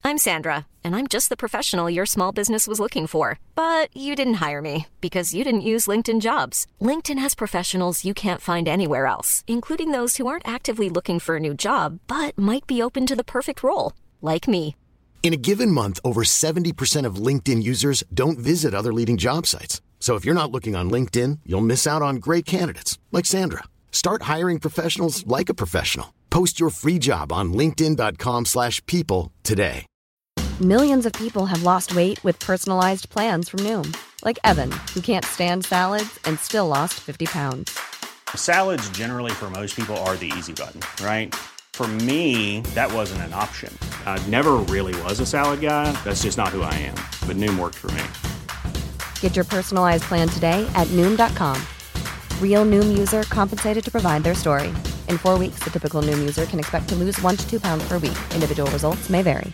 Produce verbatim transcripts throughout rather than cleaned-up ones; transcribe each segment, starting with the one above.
I'm Sandra, and I'm just the professional your small business was looking for. But you didn't hire me because you didn't use LinkedIn Jobs. LinkedIn has professionals you can't find anywhere else, including those who aren't actively looking for a new job, but might be open to the perfect role, like me. In a given month, over seventy percent of LinkedIn users don't visit other leading job sites. So if you're not looking on LinkedIn, you'll miss out on great candidates like Sandra. Start hiring professionals like a professional. Post your free job on linkedin dot com slash people today. Millions of people have lost weight with personalized plans from Noom. Like Evan, who can't stand salads and still lost fifty pounds. Salads generally for most people are the easy button, right? For me, that wasn't an option. I never really was a salad guy. That's just not who I am. But Noom worked for me. Get your personalized plan today at noom dot com. Real Noom user compensated to provide their story. In four weeks, the typical Noom user can expect to lose one to two pounds per week. Individual results may vary.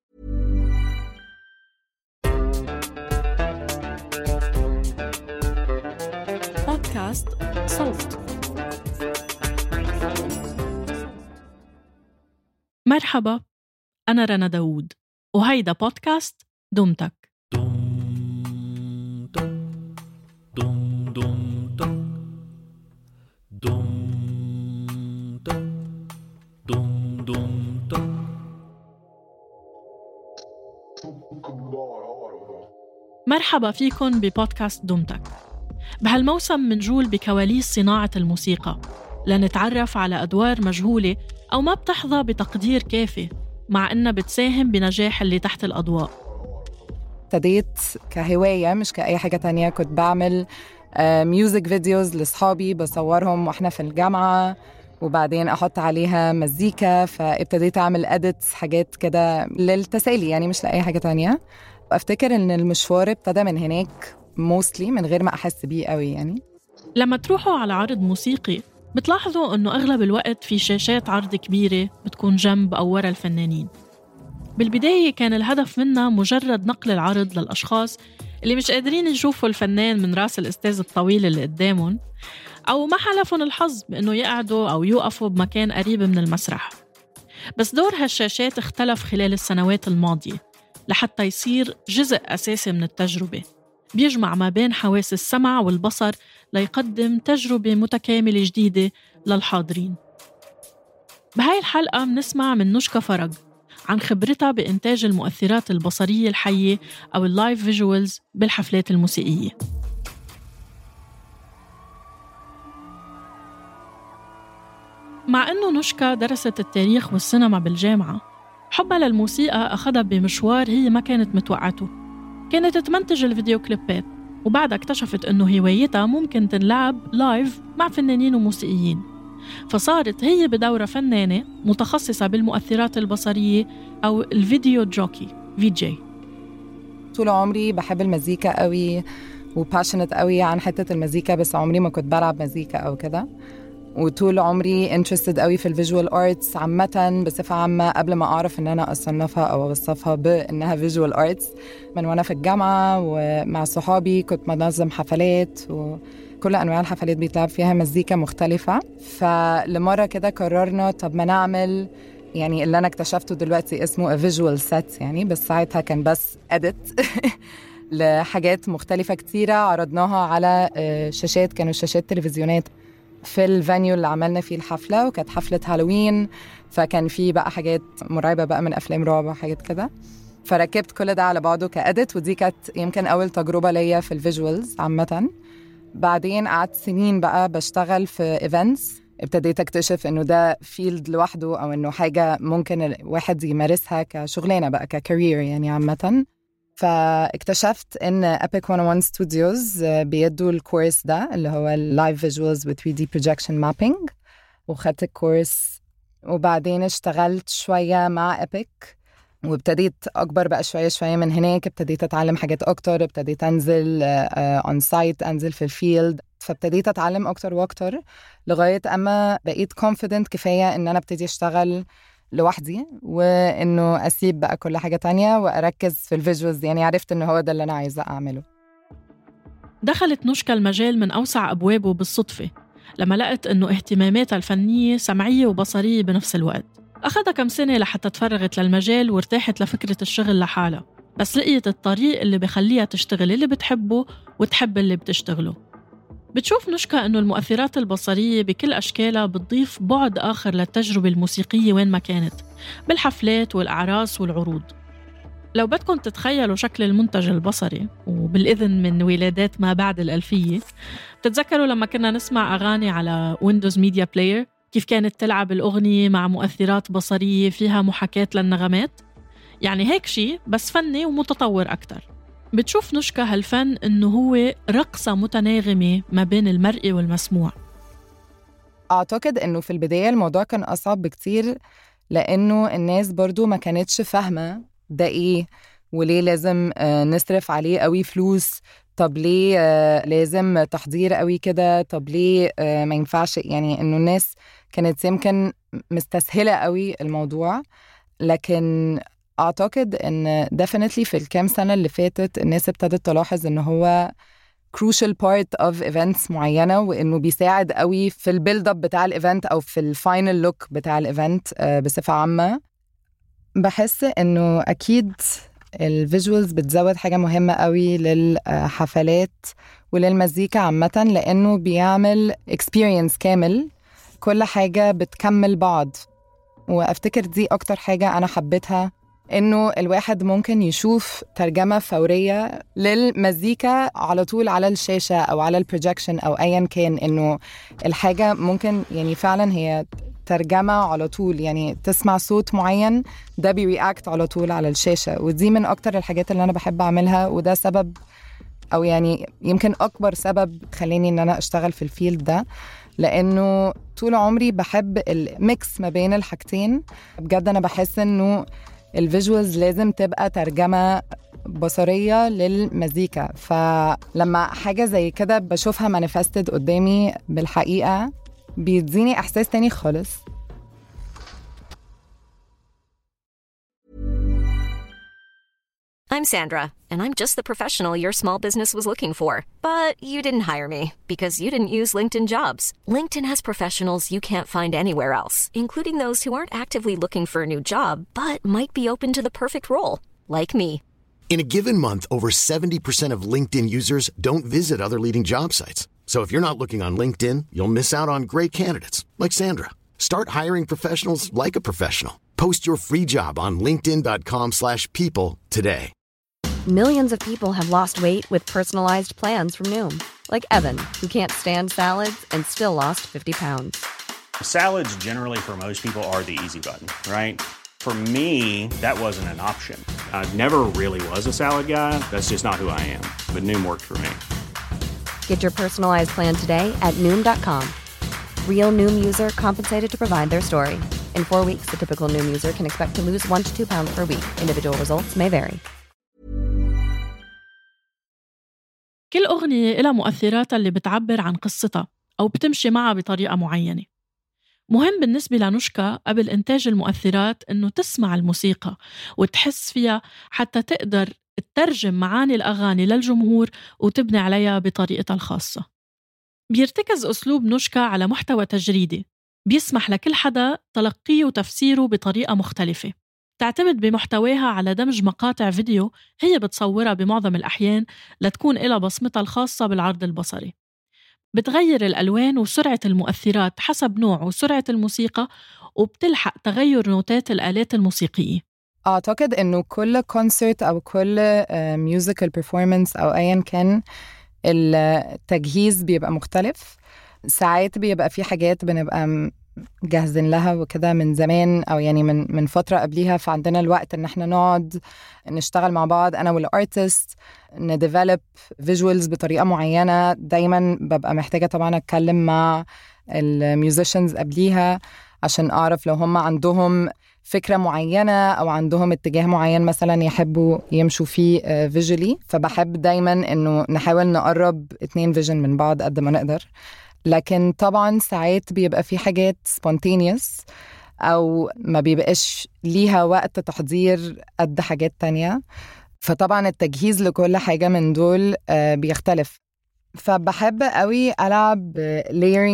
بودكاست صوت. مرحبا، أنا رنا داوود وهيدا بودكاست دمتك. مرحبا فيكن ببودكاست دمتك. بهالموسم منجول بكواليس صناعة الموسيقى لنتعرف على أدوار مجهولة أو ما بتحظى بتقدير كافي مع إنها بتساهم بنجاح اللي تحت الأضواء. ابتديت كهواية مش كأي حاجة تانية. كنت بعمل ميوزك فيديوز لصحابي بصورهم وإحنا في الجامعة وبعدين أحط عليها مزيكا، فابتديت أعمل أديتس حاجات كده للتسالي يعني مش لأي حاجة تانية. أفتكر إن المشوار ابتدى من هناك موستلي من غير ما أحس بيه قوي يعني. لما تروحوا على عرض موسيقي بتلاحظوا إنه أغلب الوقت في شاشات عرض كبيرة بتكون جنب أو ورا الفنانين. بالبداية كان الهدف منها مجرد نقل العرض للأشخاص اللي مش قادرين يشوفوا الفنان من راس الأستاذ الطويل اللي قدامهم، أو ما حلفهم الحظ بأنه يقعدوا أو يوقفوا بمكان قريب من المسرح. بس دور هالشاشات اختلف خلال السنوات الماضية لحتى يصير جزء أساسي من التجربة، بيجمع ما بين حواس السمع والبصر ليقدم تجربة متكاملة جديدة للحاضرين. بهاي الحلقة بنسمع من نشكا فرج عن خبرتها بإنتاج المؤثرات البصرية الحية أو اللايف فيجوالز بالحفلات الموسيقية. مع أنه نشكا درست التاريخ والسينما بالجامعة، حبها للموسيقى أخذها بمشوار هي ما كانت متوقعته. كانت تمنتج الفيديو كليبات وبعدها اكتشفت أنه هوايتها ممكن تنلعب لايف مع فنانين وموسيقيين، فصارت هي بدورة فنانة متخصصة بالمؤثرات البصرية أو الفيديو جوكي في جي. طول عمري بحب المزيكا قوي وباشنت قوي عن حتة المزيكا، بس عمري ما كنت بلعب مزيكا أو كده. وطول عمري interested قوي في الفيجوال آرتس عامة بصفة عامة قبل ما أعرف إن أنا أصنفها أو أوصفها بإنها فيجوال آرتس. من وأنا في الجامعة ومع صحابي كنت منظم حفلات وكل أنواع الحفلات بيتلعب فيها مزيكا مختلفة. فلمرة كده قررنا طب ما نعمل يعني اللي أنا اكتشفته دلوقتي اسمه a visual set يعني، بس ساعتها كان بس edit لحاجات مختلفة كتيرة عرضناها على شاشات، كانوا شاشات تلفزيونات في الفانيو اللي عملنا فيه الحفلة، وكانت حفلة هالوين فكان فيه بقى حاجات مرعبة بقى من أفلام رعب وحاجات كده. فركبت كل ده على بعضه كأدت، ودي كانت يمكن أول تجربة ليا في الفيجوالز عامة. بعدين قعدت سنين بقى بشتغل في إيفنتس، ابتديت أكتشف إنه ده فيلد لوحده أو إنه حاجة ممكن الواحد يمارسها كشغلانة بقى ككارير يعني عامة. فاكتشفت إن Epic مية وواحد Studios بيدوا الكورس ده اللي هو Live Visuals with ثري دي Projection Mapping، وخدت الكورس وبعدين اشتغلت شوية مع Epic وابتديت أكبر بقى شوية شوية من هناك. ابتديت أتعلم حاجات أكتر، ابتديت أنزل uh, on site، أنزل في الفيلد، فابتديت أتعلم أكتر وأكتر لغاية أما بقيت confident كفاية إن أنا ابتدي أشتغل لوحدي وإنه أسيب بقى كل حاجة تانية وأركز في الفيجوالز. يعني عرفت إنه هو ده اللي أنا عايزة أعمله. دخلت نشكا المجال من أوسع أبوابه بالصدفة لما لقت إنه اهتماماتها الفنية سمعية وبصرية بنفس الوقت. أخذها كم سنة لحتى تفرغت للمجال وارتاحت لفكرة الشغل لحالها، بس لقيت الطريق اللي بخليها تشتغل اللي بتحبه وتحب اللي بتشتغله. بتشوف نشكا إنه المؤثرات البصرية بكل أشكالها بتضيف بعد آخر للتجربة الموسيقية وين ما كانت، بالحفلات والأعراس والعروض. لو بدكم تتخيلوا شكل المنتج البصري وبالإذن من ولادات ما بعد الألفية، بتتذكروا لما كنا نسمع أغاني على ويندوز ميديا بلاير كيف كانت تلعب الأغنية مع مؤثرات بصرية فيها محاكاة للنغمات؟ يعني هيك شيء بس فني ومتطور أكتر. بتشوف نشكا هالفن إنه هو رقصة متناغمة ما بين المرئي والمسموع. أعتقد إنه في البداية الموضوع كان أصعب بكتير، لأنه الناس برضو ما كانتش فاهمة ده إيه وليه لازم نصرف عليه قوي فلوس. طب ليه لازم تحضير قوي كده؟ طب ليه ما ينفعش؟ يعني إنه الناس كانت يمكن مستسهلة قوي الموضوع. لكن أعتقد إن definitely في الكام سنة اللي فاتت الناس ابتدت تلاحظ إنه هو crucial part of events معينة، وإنه بيساعد قوي في البيلد اب بتاع الإيفنت أو في الفاينل لوك بتاع الإيفنت بصفة عامة. بحس إنه أكيد الفيجوالز بتزود حاجة مهمة قوي للحفلات وللمزيكا عامة، لأنه بيعمل experience كامل، كل حاجة بتكمل بعض. وأفتكر دي أكتر حاجة أنا حبيتها، إنه الواحد ممكن يشوف ترجمة فورية للمزيكا على طول على الشاشة أو على البروجيكشن أو أيا كان، إنه الحاجة ممكن يعني فعلا هي ترجمة على طول، يعني تسمع صوت معين ده بيرياكت على طول على الشاشة. ودي من أكتر الحاجات اللي أنا بحب أعملها، وده سبب أو يعني يمكن أكبر سبب خليني إن أنا أشتغل في الفيلد ده، لأنه طول عمري بحب الميكس ما بين الحاجتين. بجد أنا بحس إنه الفيجوالز لازم تبقى ترجمة بصرية للمزيكا، فلما حاجة زي كده بشوفها مانيفستد قدامي بالحقيقة بيديني إحساس تاني خالص. I'm Sandra, and I'm just the professional your small business was looking for. But you didn't hire me because you didn't use LinkedIn Jobs. LinkedIn has professionals you can't find anywhere else, including those who aren't actively looking for a new job, but might be open to the perfect role, like me. In a given month, over seventy percent of LinkedIn users don't visit other leading job sites. So if you're not looking on LinkedIn, you'll miss out on great candidates like Sandra. Start hiring professionals like a professional. Post your free job on linkedin dot com slash people today. Millions of people have lost weight with personalized plans from Noom. Like Evan, who can't stand salads and still lost fifty pounds. Salads generally for most people are the easy button, right? For me, that wasn't an option. I never really was a salad guy. That's just not who I am. But Noom worked for me. Get your personalized plan today at Noom dot com. Real Noom user compensated to provide their story. In four weeks, the typical Noom user can expect to lose one to two pounds per week. Individual results may vary. كل أغنية إلها مؤثراتها اللي بتعبر عن قصتها أو بتمشي معها بطريقة معينة. مهم بالنسبة لنشكا قبل إنتاج المؤثرات إنه تسمع الموسيقى وتحس فيها حتى تقدر تترجم معاني الأغاني للجمهور وتبني عليها بطريقتها الخاصة. بيرتكز أسلوب نشكا على محتوى تجريدي بيسمح لكل حدا تلقيه وتفسيره بطريقة مختلفة. تعتمد بمحتواها على دمج مقاطع فيديو هي بتصورها بمعظم الأحيان لتكون إلها بصمتها الخاصة بالعرض البصري. بتغير الألوان وسرعة المؤثرات حسب نوع وسرعة الموسيقى، وبتلحق تغير نوتات الآلات الموسيقية. أعتقد إنه كل كونسرت أو كل ميوزيكال بيرفورمانس أو أيا كان التجهيز بيبقى مختلف. ساعات بيبقى في حاجات بنبقى جاهزين لها وكده من زمان أو يعني من من فترة قبليها، فعندنا الوقت إن احنا نقعد نشتغل مع بعض أنا والارتست نديفلوب فيجوالز بطريقة معينة. دايما ببقى محتاجة طبعا أتكلم مع الميوزيشنز قبليها عشان أعرف لو هم عندهم فكرة معينة أو عندهم اتجاه معين مثلا يحبوا يمشوا فيه فيجولي. فبحب دايما إنه نحاول نقرب اتنين فيجن من بعض قد ما نقدر. لكن طبعا ساعات بيبقى في حاجات spontaneous أو ما بيبقاش ليها وقت تحضير قد حاجات تانية، فطبعا التجهيز لكل حاجة من دول بيختلف. فبحب قوي ألعب layering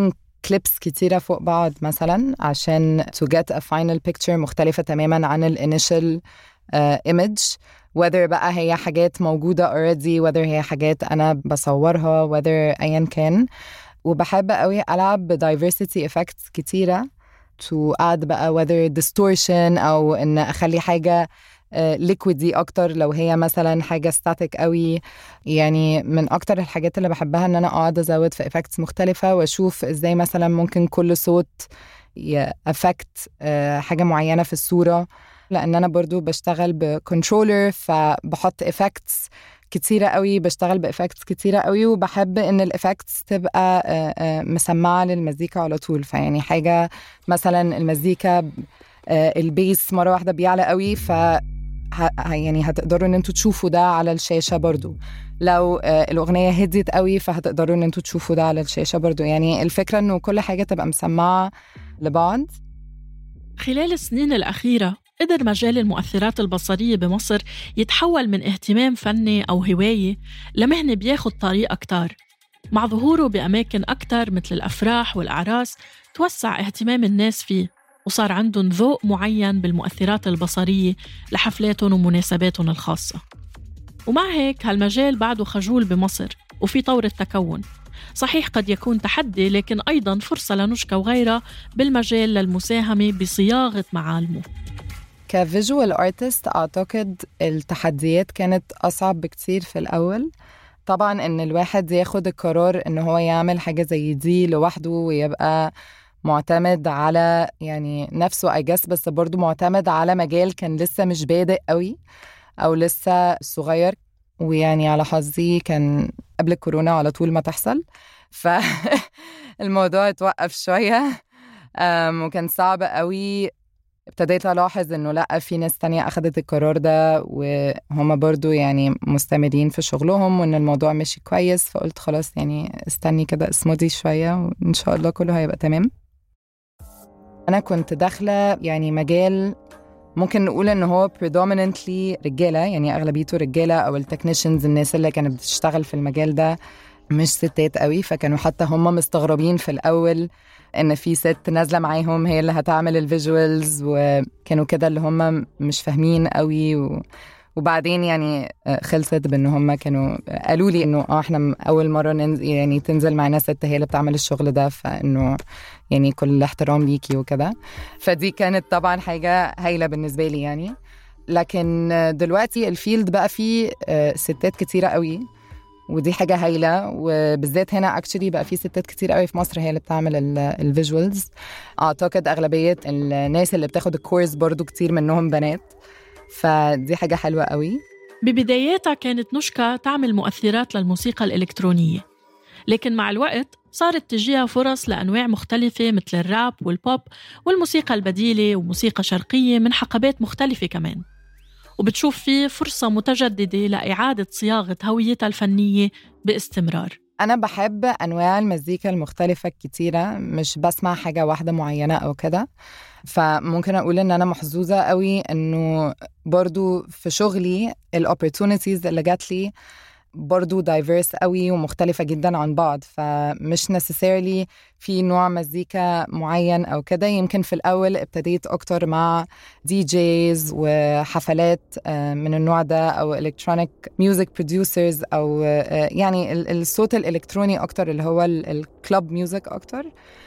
كليبس كتيرة فوق بعض مثلا عشان to get a final picture مختلفة تماما عن ال initial uh, image, whether بقى هي حاجات موجودة already, whether هي حاجات أنا بصورها, whether أيا كان. وبحب قوي ألعب ب diversity effects كتيرة to add بقى whether distortion أو إن أخلي حاجة liquidy أكتر لو هي مثلا حاجة static قوي. يعني من أكتر الحاجات اللي بحبها إن أنا أقعد أزود في effects مختلفة وأشوف إزاي مثلا ممكن كل صوت يأفكت حاجة معينة في الصورة، لأن أنا برضو بشتغل بكنترولر فبحط effects كتيرة قوي، بشتغل بإفكتس كتيرة قوي، وبحب إن الإفكتس تبقى مسمعة للمزيكا على طول. فيعني حاجة مثلا المزيكا البيس مرة واحدة بيعلى قوي، ف يعني هتقدروا إن انتوا تشوفوا ده على الشاشة برضو. لو الأغنية هديت قوي فهتقدروا إن انتوا تشوفوا ده على الشاشة برضو. يعني الفكرة إنه كل حاجة تبقى مسمعة لبعض. خلال السنين الأخيرة قدر مجال المؤثرات البصرية بمصر يتحول من اهتمام فني أو هواية لمهنة بياخد طريق أكتر. مع ظهوره بأماكن أكتر مثل الأفراح والأعراس توسع اهتمام الناس فيه، وصار عندهم ذوق معين بالمؤثرات البصرية لحفلاتهم ومناسباتهم الخاصة. ومع هيك هالمجال بعده خجول بمصر وفي طور التكون. صحيح قد يكون تحدي، لكن أيضاً فرصة لنشكى وغيرها بالمجال للمساهمة بصياغة معالمه. كفيجوال آرتست أعتقد التحديات كانت أصعب بكتير في الأول. طبعاً إن الواحد ياخد القرار إنه هو يعمل حاجة زي دي لوحده ويبقى معتمد على يعني نفسه I guess، بس برضو معتمد على مجال كان لسه مش بادئ قوي أو لسه صغير. ويعني على حظي كان قبل الكورونا على طول ما تحصل، فالموضوع اتوقف شوية وكان صعب قوي. ابتديت ألاحظ إنه لأ، في ناس تانية أخدت القرار ده وهم برضو يعني مستمرين في شغلهم وإن الموضوع ماشي كويس. فقلت خلاص يعني استني كده اسمودي شوية وإن شاء الله كله هيبقى تمام. أنا كنت داخلة يعني مجال ممكن نقول إنه هو predominantly رجالة، يعني أغلبيته رجالة، أو التكنيشنز الناس اللي كانت بتشتغل في المجال ده مش ستات قوي. فكانوا حتى هم مستغربين في الأول إن في ست نازلة معاهم هي اللي هتعمل الفيجوالز، وكانوا كده اللي هم مش فاهمين قوي. و... وبعدين يعني خلصت بأن هم كانوا قالوا لي إنه آه إحنا أول مرة ننزل يعني تنزل معنا ست هي اللي بتعمل الشغل ده، فإنه يعني كل احترام ليكي وكده. فدي كانت طبعا حاجة هايلة بالنسبة لي يعني. لكن دلوقتي الفيلد بقى فيه ستات كتيرة قوي، ودي حاجة هايلة. وبالذات هنا اكشلي بقى في ستات كتير قوي في مصر هي اللي بتعمل الفيجوالز. اعتقد اغلبية الناس اللي بتاخد الكورس برضو كتير منهم بنات، فدي حاجة حلوة قوي. ببداياتها كانت نشكى تعمل مؤثرات للموسيقى الإلكترونية، لكن مع الوقت صارت تجيها فرص لأنواع مختلفة مثل الراب والبوب والموسيقى البديلة وموسيقى شرقية من حقبات مختلفة كمان. وبتشوف فيه فرصة متجددة لإعادة صياغة هويتها الفنية باستمرار. أنا بحب أنواع المزيكا المختلفة كتيرة، مش بسمع حاجة واحدة معينة أو كده. فممكن أقول إن أنا محظوظة قوي إنه برضو في شغلي الopportunities اللي جات لي برضو diverse قوي ومختلفة جدا عن بعض. فمش necessarily في نوع مزيكا معين أو كده. يمكن في الأول ابتديت أكتر مع دي جيز وحفلات من النوع ده، أو electronic music producers، أو يعني الصوت الإلكتروني أكتر اللي هو الكلاب ميوزك أكتر.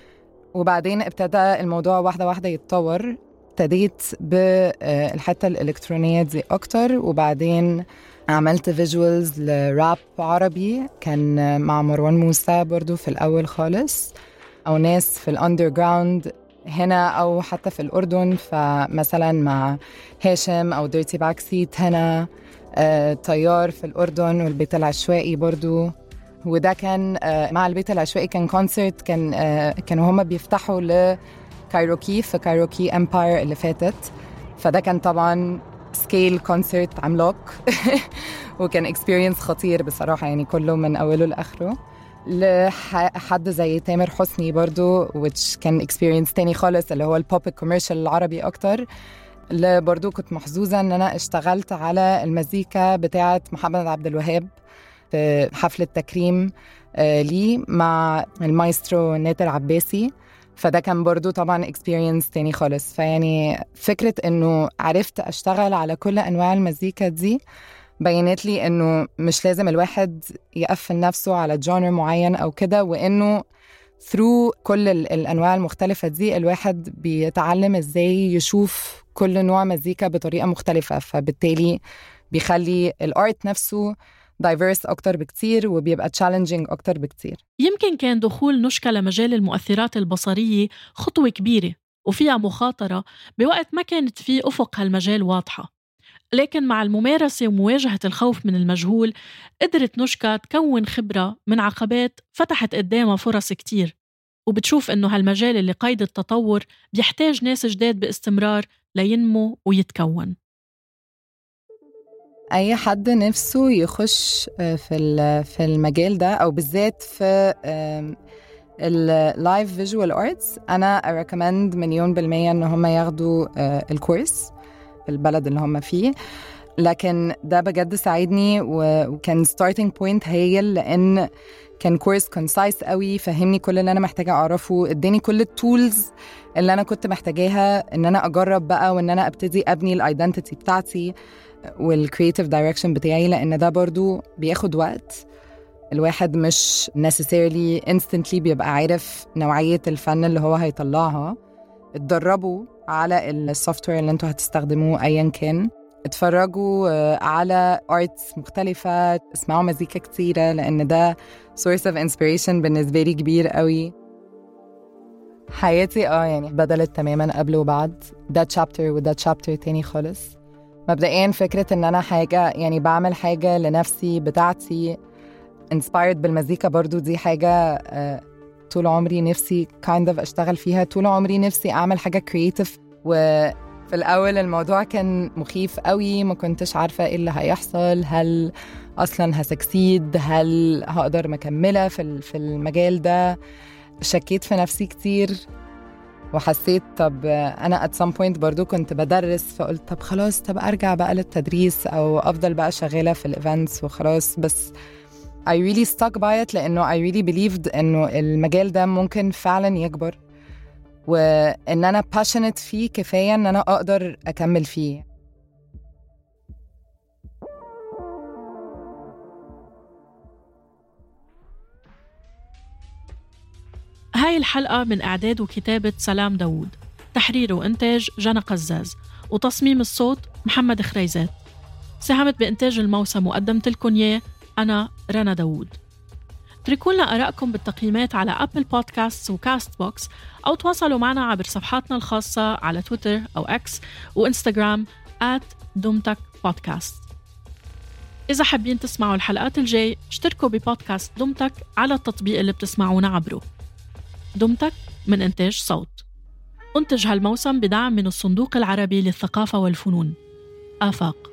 وبعدين ابتدى الموضوع واحدة واحدة يتطور. ابتديت بالحتة الإلكترونية دي أكتر، وبعدين عملت فيجوالز لراب عربي كان مع مروان موسى برضو في الأول خالص، أو ناس في الأندرجراوند هنا أو حتى في الأردن. فمثلا مع هاشم أو ديرتي باكسيت هنا، آه، طيار في الأردن، والبيت العشوائي برضو. وده كان آه، مع البيت العشوائي كان كونسرت، كان آه، كانوا هما بيفتحوا لكايروكي في كايروكي امباير اللي فاتت. فده كان طبعاً سكيل كونسرت عملاق وكان اكسبيرينس خطير بصراحة، يعني كله من أوله لآخره. لحد زي تامر حسني برضو which كان اكسبيرينس تاني خالص، اللي هو البوب كوميرشال العربي أكتر. اللي برضو كنت محظوظة أن أنا اشتغلت على المزيكا بتاعة محمد عبد الوهاب في حفلة تكريم آه لي مع المايسترو ناتر عباسي، فده كان برضو طبعا experience تاني خالص. فيعني فكرة إنه عرفت أشتغل على كل أنواع المزيكا دي بينت لي إنه مش لازم الواحد يقفل نفسه على جانر معين أو كده، وإنه through كل الأنواع المختلفة دي الواحد بيتعلم إزاي يشوف كل نوع مزيكا بطريقة مختلفة، فبالتالي بيخلي الارت نفسه diverse أكتر بكتير وبيبقى challenging أكتر بكتير. يمكن كان دخول نشكة لمجال المؤثرات البصرية خطوة كبيرة وفيها مخاطرة بوقت ما كانت فيه أفق هالمجال واضحة، لكن مع الممارسة ومواجهة الخوف من المجهول قدرت نشكة تكون خبرة من عقبات فتحت قدامها فرص كتير، وبتشوف إنه هالمجال اللي قيد التطور بيحتاج ناس جداد باستمرار لينمو ويتكون. أي حد نفسه يخش في في المجال ده أو بالذات في اللايف فيجوال آرتس، أنا أريكمند مليون بالمية إن هم ياخدوا الكورس في البلد اللي هم فيه. لكن ده بجد ساعدني وكان starting point هايل، لأن كان كورس concise قوي، فهمني كل اللي أنا محتاجة أعرفه، اداني كل التولز اللي أنا كنت محتاجاها إن أنا أجرب بقى وإن أنا أبتدي أبني الايدنتيتي بتاعتي والكرياتيف دايركشن بتاعي، لأن ده برضو بياخد وقت. الواحد مش necessarily instantly بيبقى عارف نوعية الفن اللي هو هيطلعها. اتدربوا على السوفتوير اللي انتوا هتستخدموه أيا كان، اتفرجوا على arts مختلفة، اسمعوا مزيكا كتيرة، لأن ده source of inspiration بالنسبة لي كبير قوي. حياتي اه يعني بدلت تماما قبل وبعد، ده chapter وده chapter تاني خالص. مبدئيا فكرة ان انا حاجة يعني بعمل حاجة لنفسي بتاعتي inspired بالمزيكا، برضو دي حاجة uh, طول عمري نفسي kind of اشتغل فيها. طول عمري نفسي اعمل حاجة creative، وفي الاول الموضوع كان مخيف قوي، ما كنتش عارفة ايه اللي هيحصل، هل اصلا هسكسيد، هل هقدر مكملة في في المجال ده. شكيت في نفسي كتير وحسيت طب أنا at some point برضو كنت بدرس، فقلت طب خلاص طب أرجع بقى للتدريس أو أفضل بقى شغالة في الإيفنتس وخلاص. بس I really stuck by it، لأنه I really believed إنه المجال ده ممكن فعلا يكبر، وإن أنا passionate فيه كفاية إن أنا أقدر أكمل فيه. هاي الحلقة من إعداد وكتابة سلام داوود، تحرير وإنتاج جنى قزاز، وتصميم الصوت محمد خريزات. ساهمت بإنتاج الموسم وقدمت لكم إياه أنا رنا داوود. اتركوا لنا آرائكم بالتقييمات على أبل بودكاست وكاست بوكس، أو تواصلوا معنا عبر صفحاتنا الخاصة على تويتر أو إكس وإنستغرام آت دومتك بودكاست. إذا حابين تسمعوا الحلقات الجاي اشتركوا ببودكاست دومتك على التطبيق اللي بتسمعونا عبره. دومتك من إنتاج صوت، أنتج هالموسم بدعم من الصندوق العربي للثقافة والفنون آفاق.